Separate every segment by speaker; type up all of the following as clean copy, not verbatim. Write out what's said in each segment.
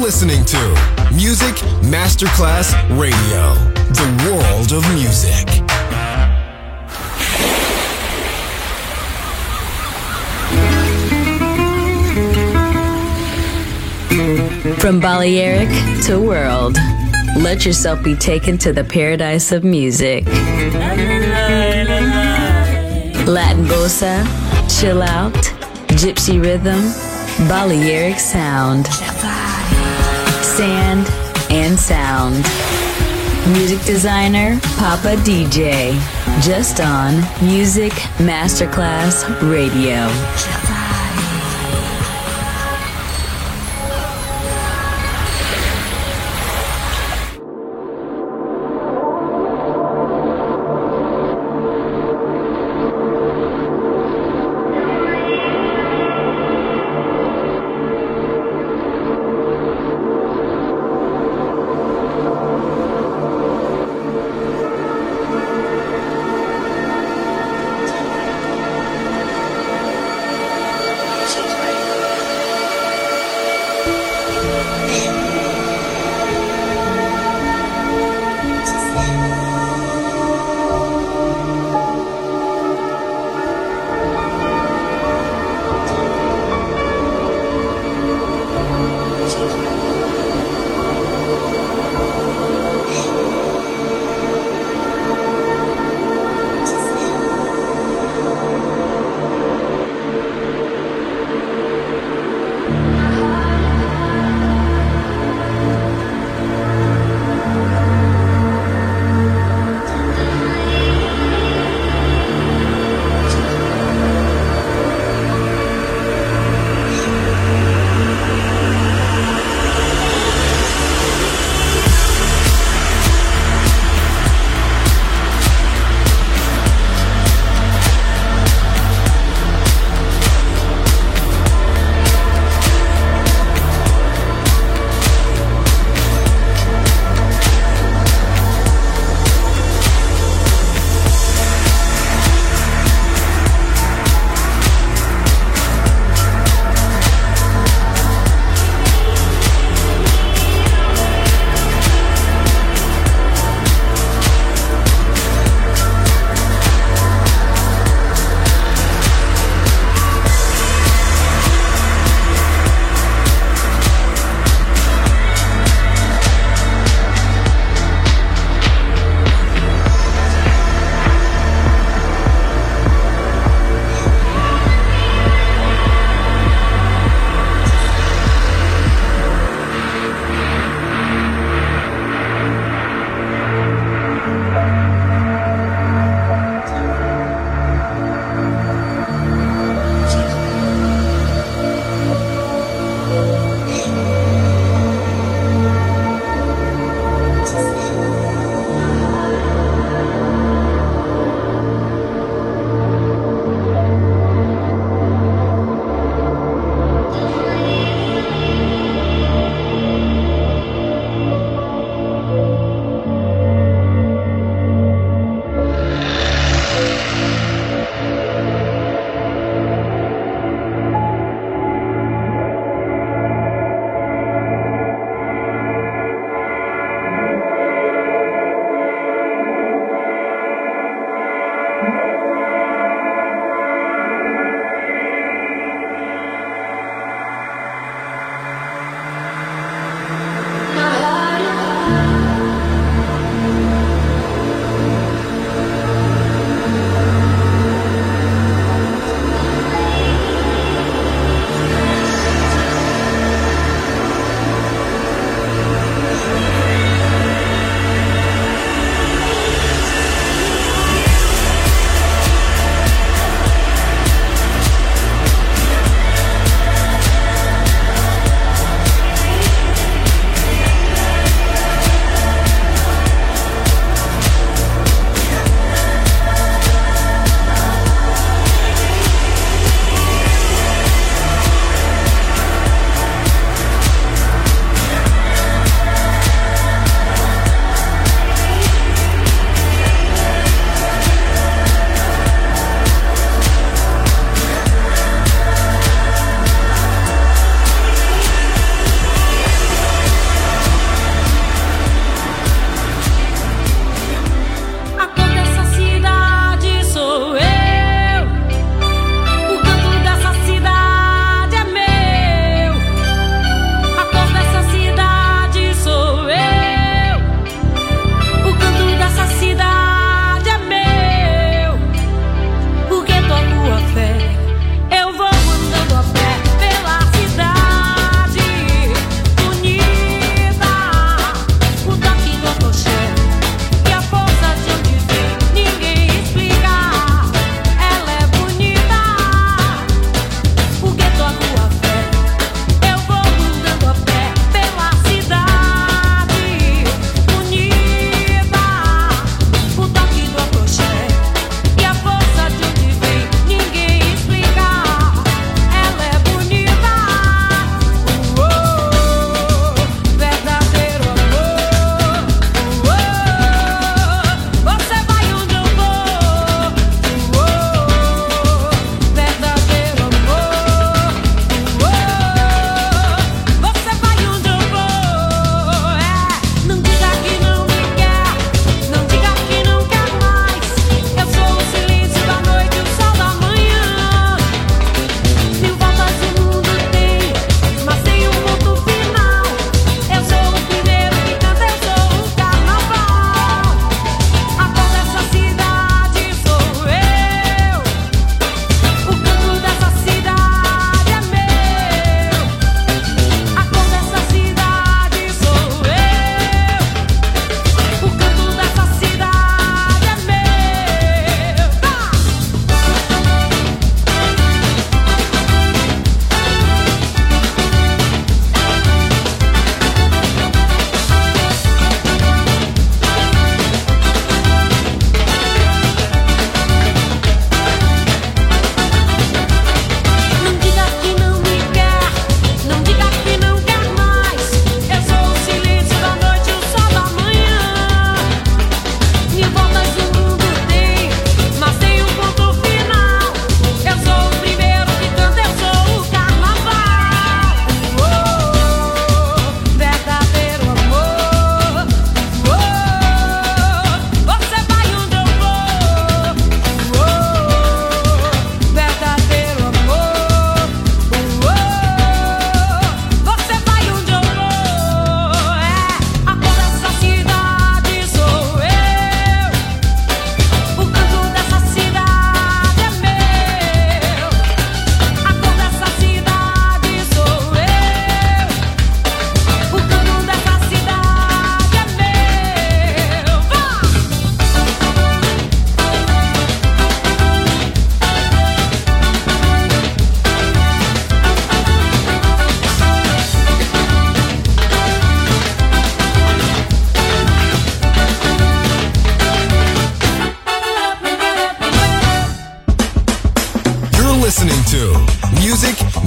Speaker 1: listening to Music Masterclass Radio, the world of music.
Speaker 2: From Balearic to world, let yourself be taken to the paradise of music. Latin bossa, chill out, gypsy rhythm, Balearic sound, sand and sound. Music designer, Papa DJ, just on Music Masterclass Radio.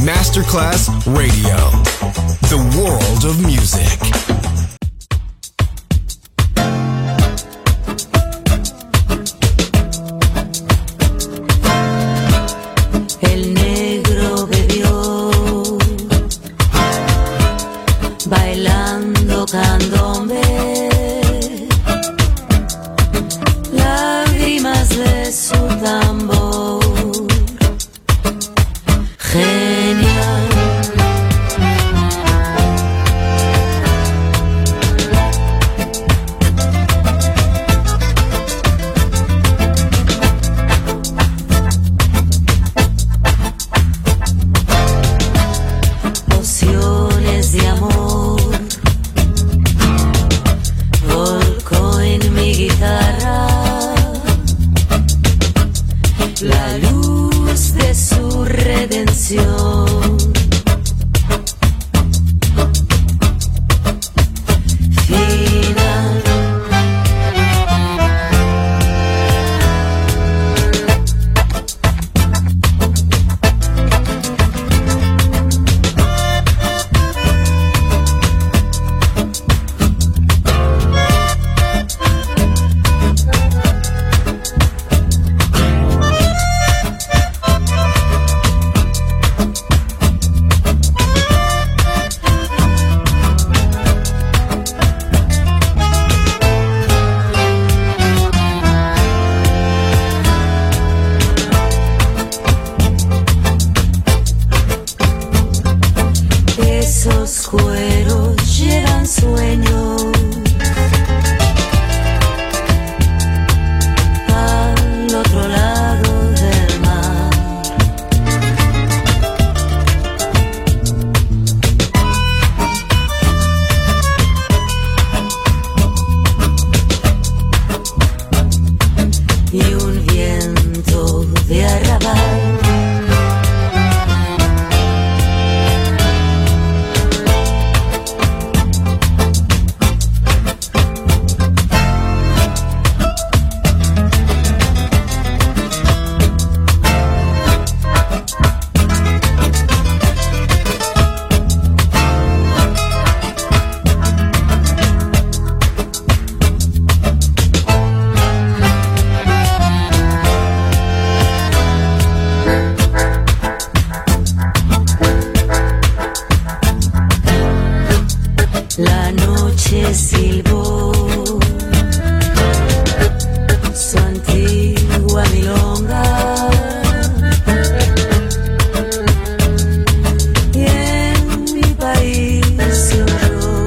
Speaker 1: Masterclass Radio. The world of music.
Speaker 3: El negro bebió, bailando candombe, lágrimas de su tambor. Genial. Pociones de amor volcó en mi guitarra la luz de su redención. Final. Esos cueros llevan sueño al otro lado del mar. Y un viento de arrabal la noche silbó su antigua milonga y en mi país se oyó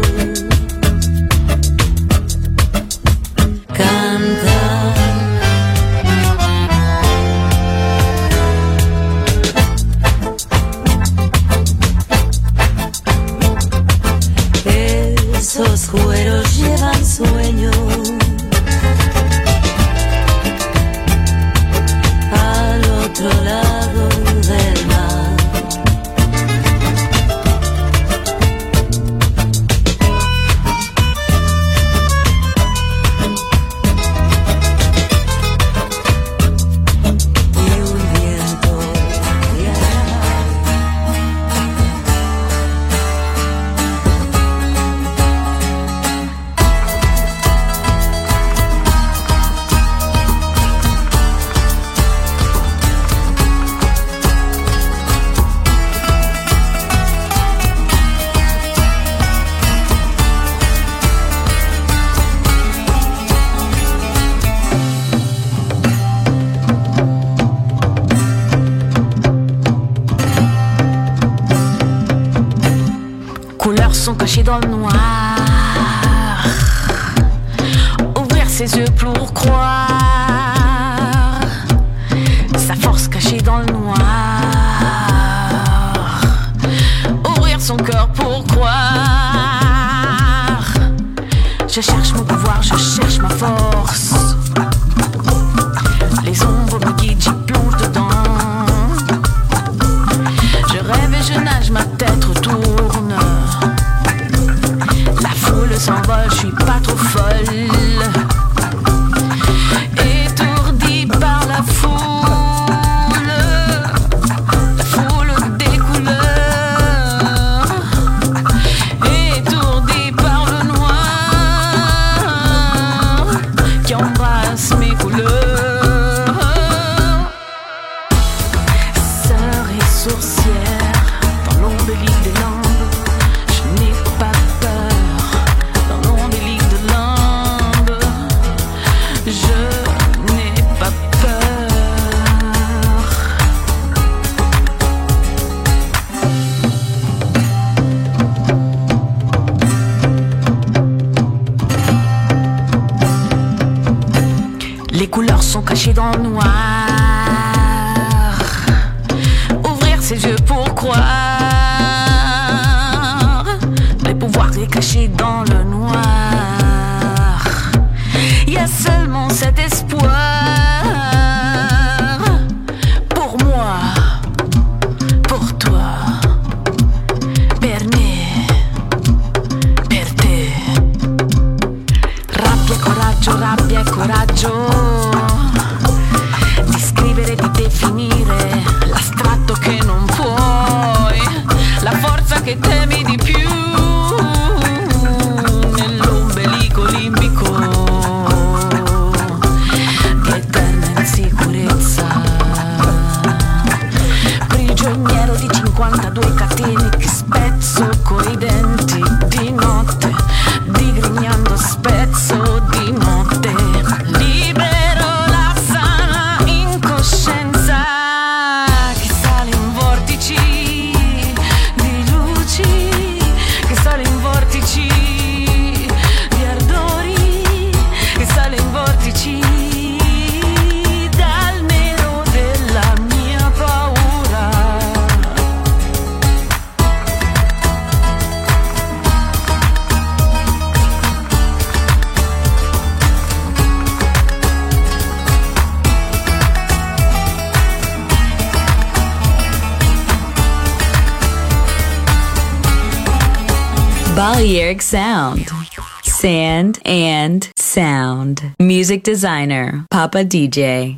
Speaker 3: cantar. Esos cueros llevan sueño al otro lado del mar. Y un viento de arrabal
Speaker 4: Couleurs sont cachées dans le noir. Ouvrir ses yeux pour croire. Sa force cachée dans le noir. Ouvrir son cœur pour croire. Je cherche mon pouvoir, je cherche ma force. Les ombres me guident, j'y plonge dedans. Je rêve et je nage, ma tête retourne. La foule s'envole, je suis pas trop folle. Étourdie par la foule des couleurs. caché dans le noir. Ouvrir ses yeux pour croire. Les pouvoirs est caché dans le noir. Il y a seulement cet espoir. Pour moi, pour toi, per me, per te. Rabbia e coraggio di scrivere, di definire l'astratto che non puoi, la forza che temi di più nell'ombelico limbico di eterna insicurezza, prigioniero di 52 catene che spezzo coi denti di notte, digrignando spezzo di notte, libero la sana incoscienza che sale in vortici di luci, che sale in vortici di ardori, che sale in vortici dal nero della mia paura.
Speaker 2: Balearic Sound. Sand and Sound. Music designer, Papa DJ.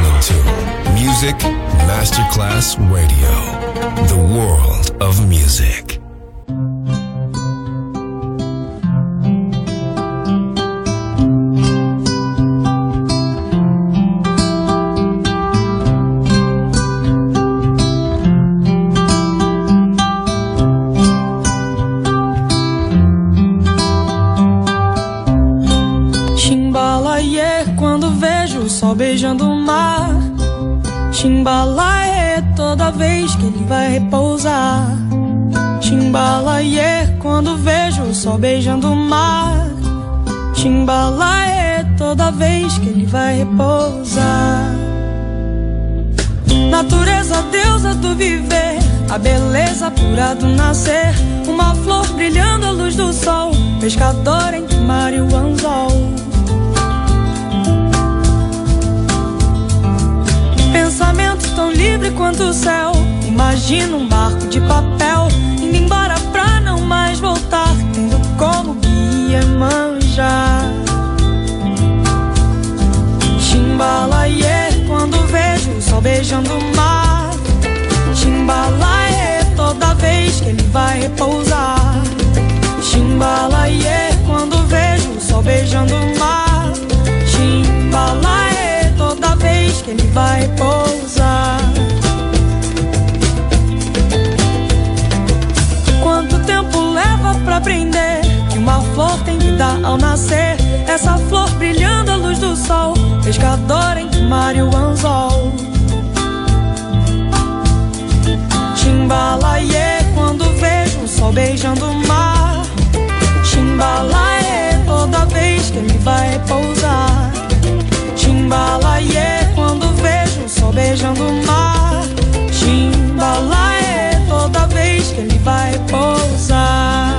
Speaker 1: listening to Music Masterclass Radio, the world of music.
Speaker 5: Beijando o mar, Chimbalaê, toda vez que ele vai repousar. Chimbalaê, quando vejo o sol beijando o mar. Chimbalaê, toda vez que ele vai repousar. Natureza, deusa do viver, a beleza pura do nascer. Uma flor brilhando à luz do sol, pescador entre o mar e o anzol. Pensamento tão livre quanto o céu. Imagina um barco de papel indo embora pra não mais voltar, tendo como guia Iemanjá. Chimbalaê, quando vejo o sol beijando o mar. Chimbalaê, toda vez que ele vai repousar. Chimbalaê, quando vejo o sol beijando o mar. Chimbalaê, toda vez que ele vai pousar. Quanto tempo leva pra aprender que uma flor tem que dar ao nascer? Essa flor brilhando à luz do sol, pescador entre o mar e o anzol. Chimbalaê, quando vejo o sol beijando o mar. Chimbalaê, toda vez que ele vai pousar. Chimbalaê, quando vejo o sol beijando o mar. Chimbalaê, toda vez que ele vai pousar.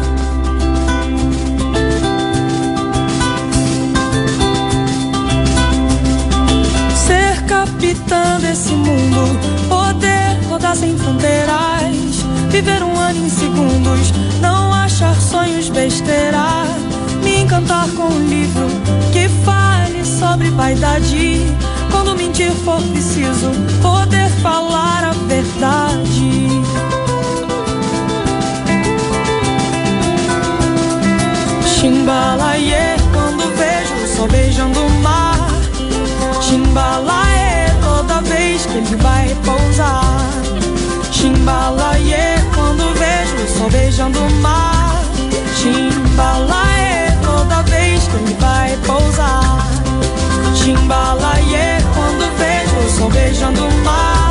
Speaker 5: Ser capitã desse mundo, poder rodar sem fronteiras, viver um ano em segundos, não achar sonhos besteira. Me encantar com um livro que fale sobre vaidade. Quando mentir for preciso, poder falar a verdade. Chimbalaê, quando vejo o sol beijando o mar. Chimbalaê, toda vez que ele vai repousar. Chimbalaê, quando vejo o sol beijando o mar. Chimbalaê, toda vez que ele vai pousar. Chimbalaê, quando vejo o sol beijando o mar.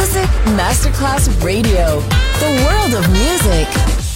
Speaker 2: Music Masterclass Radio. The world of music.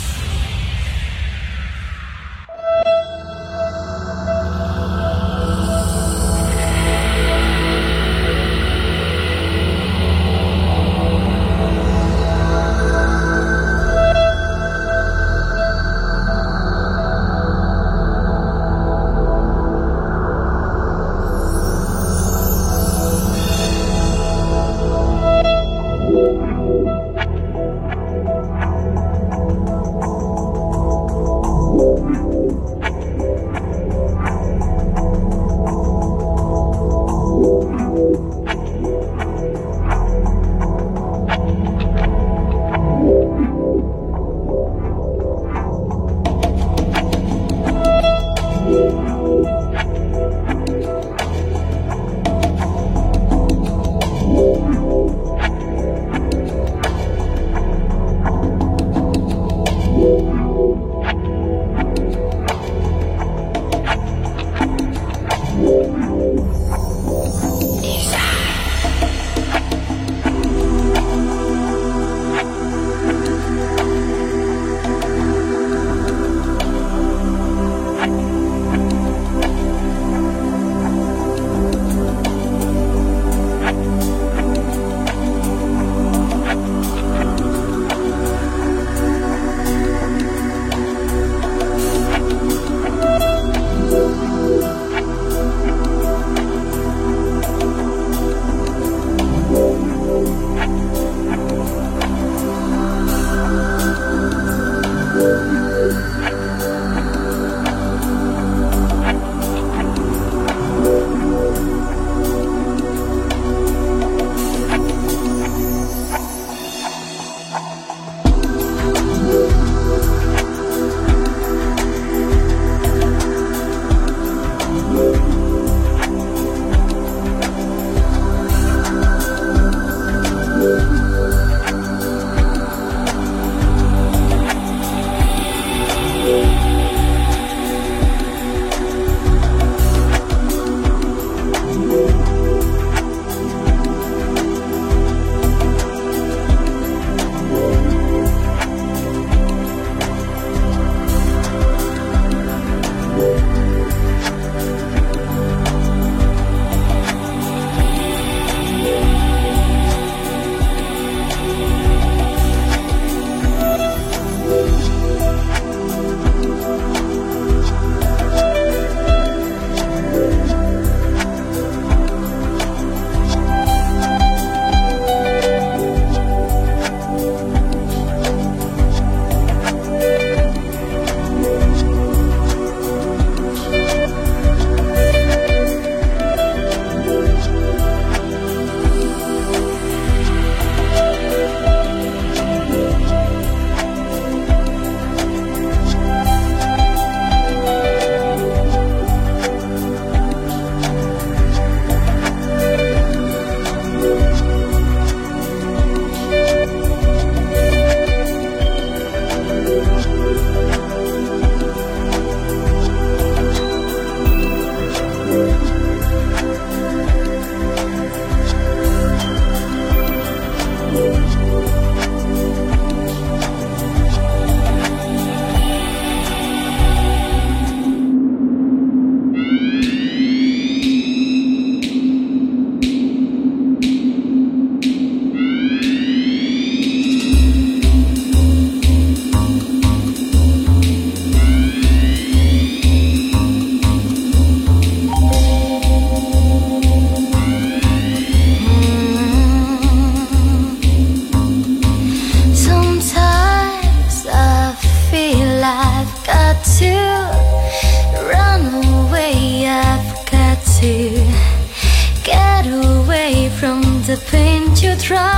Speaker 6: the pain you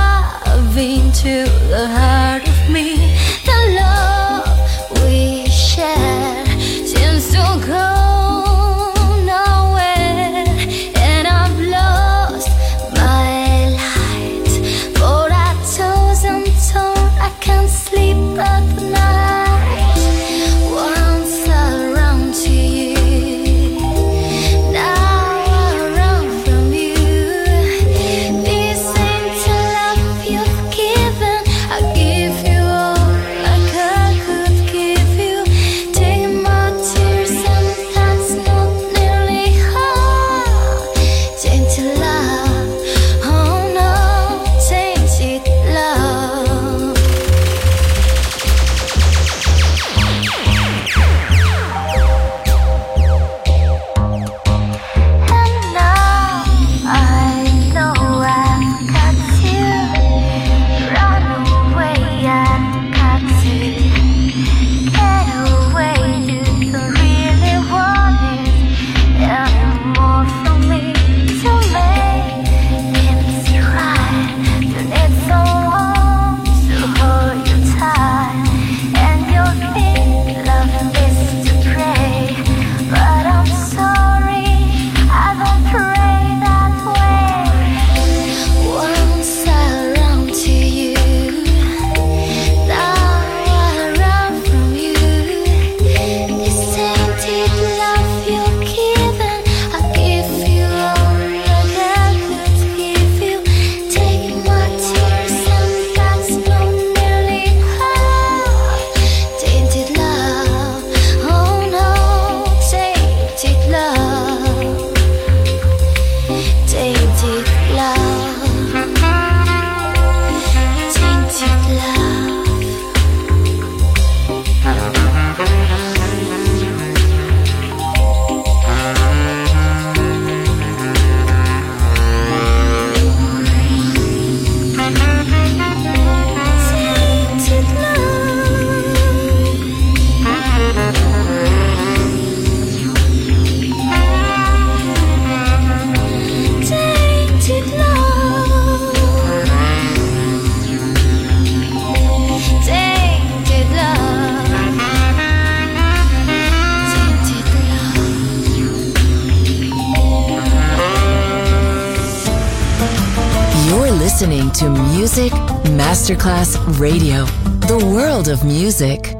Speaker 6: drive into the heart of me. The love we share seems to go nowhere, and I've lost my light. For I toss and torn, I can't sleep at night. Once I run to you, now I run from you. This ain't a love you
Speaker 2: listening to Music Masterclass Radio, the world of music.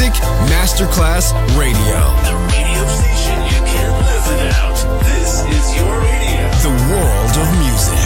Speaker 1: Music Masterclass Radio.
Speaker 7: The radio station you can't live without. This is your radio.
Speaker 1: The world of music.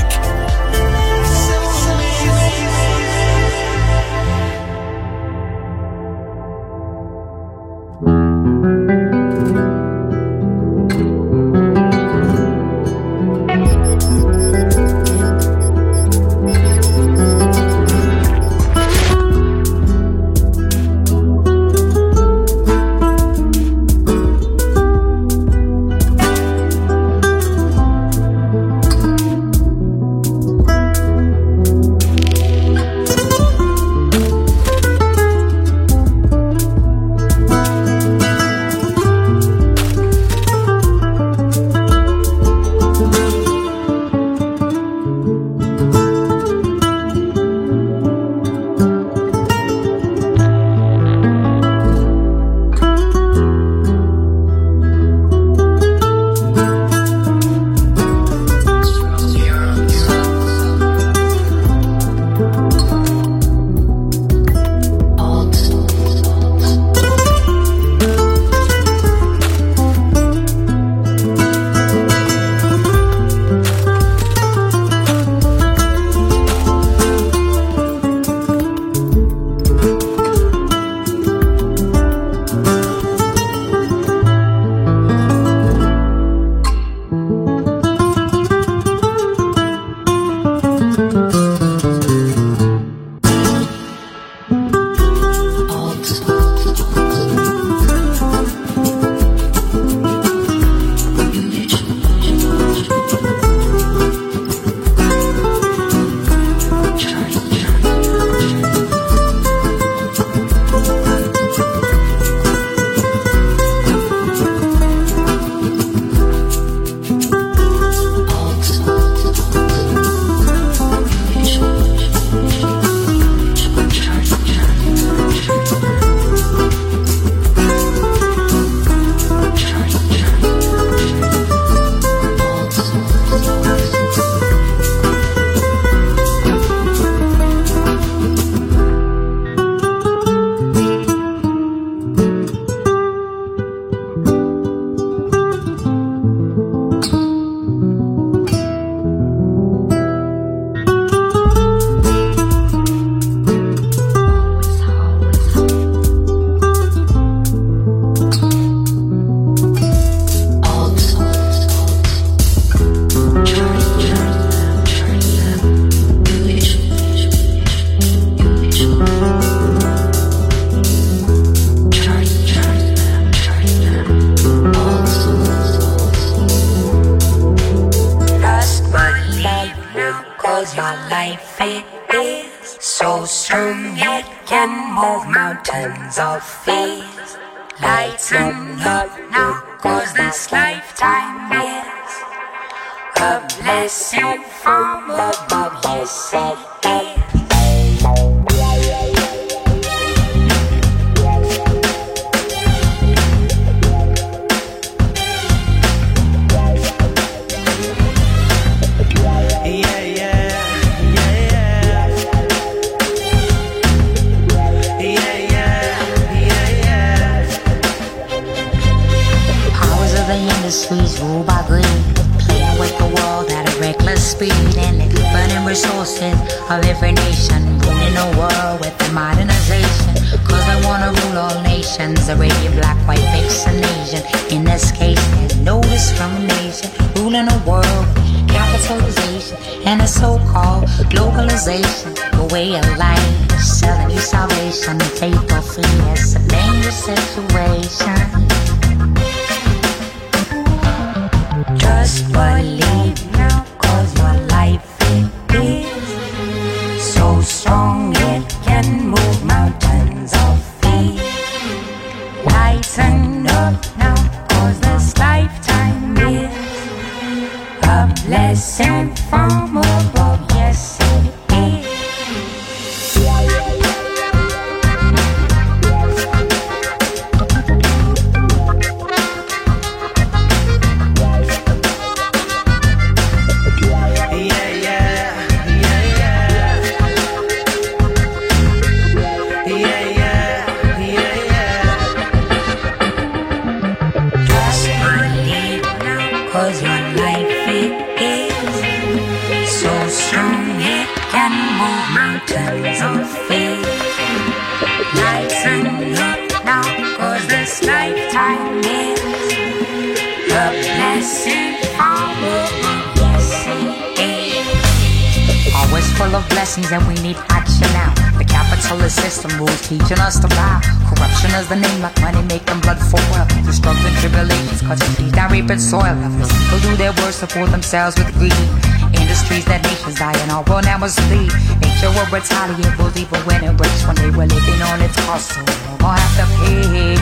Speaker 8: is the blessing from yes it is. Always full of blessings and we need action now. The capitalist system rules teaching us to lie. Corruption is the name, like money making blood for oil. The struggles and tribulations cutting trees down reaping soil. The people do their worst to fool themselves with greed. Industries that nations die and our world now must lead. Nature will retaliate, will leave when it breaks. One day we're living on its cost, so we'll have to pay.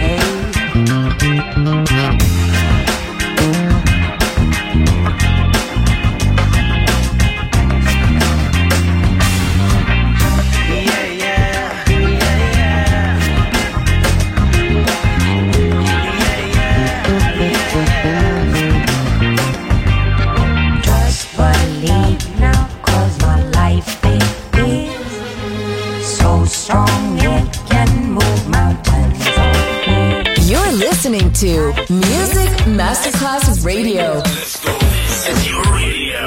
Speaker 2: Listening to Music Masterclass Radio.
Speaker 7: Let's go. This is your radio.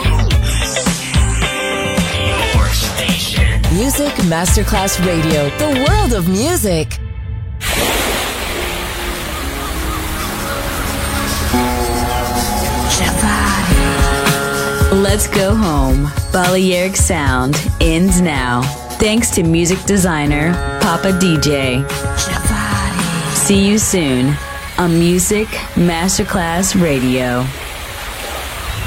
Speaker 7: Your station.
Speaker 2: Music Masterclass Radio. The world of music. Let's go home. Balearic Sound ends now. Thanks to music designer Papa DJ. See you soon on Music Masterclass Radio.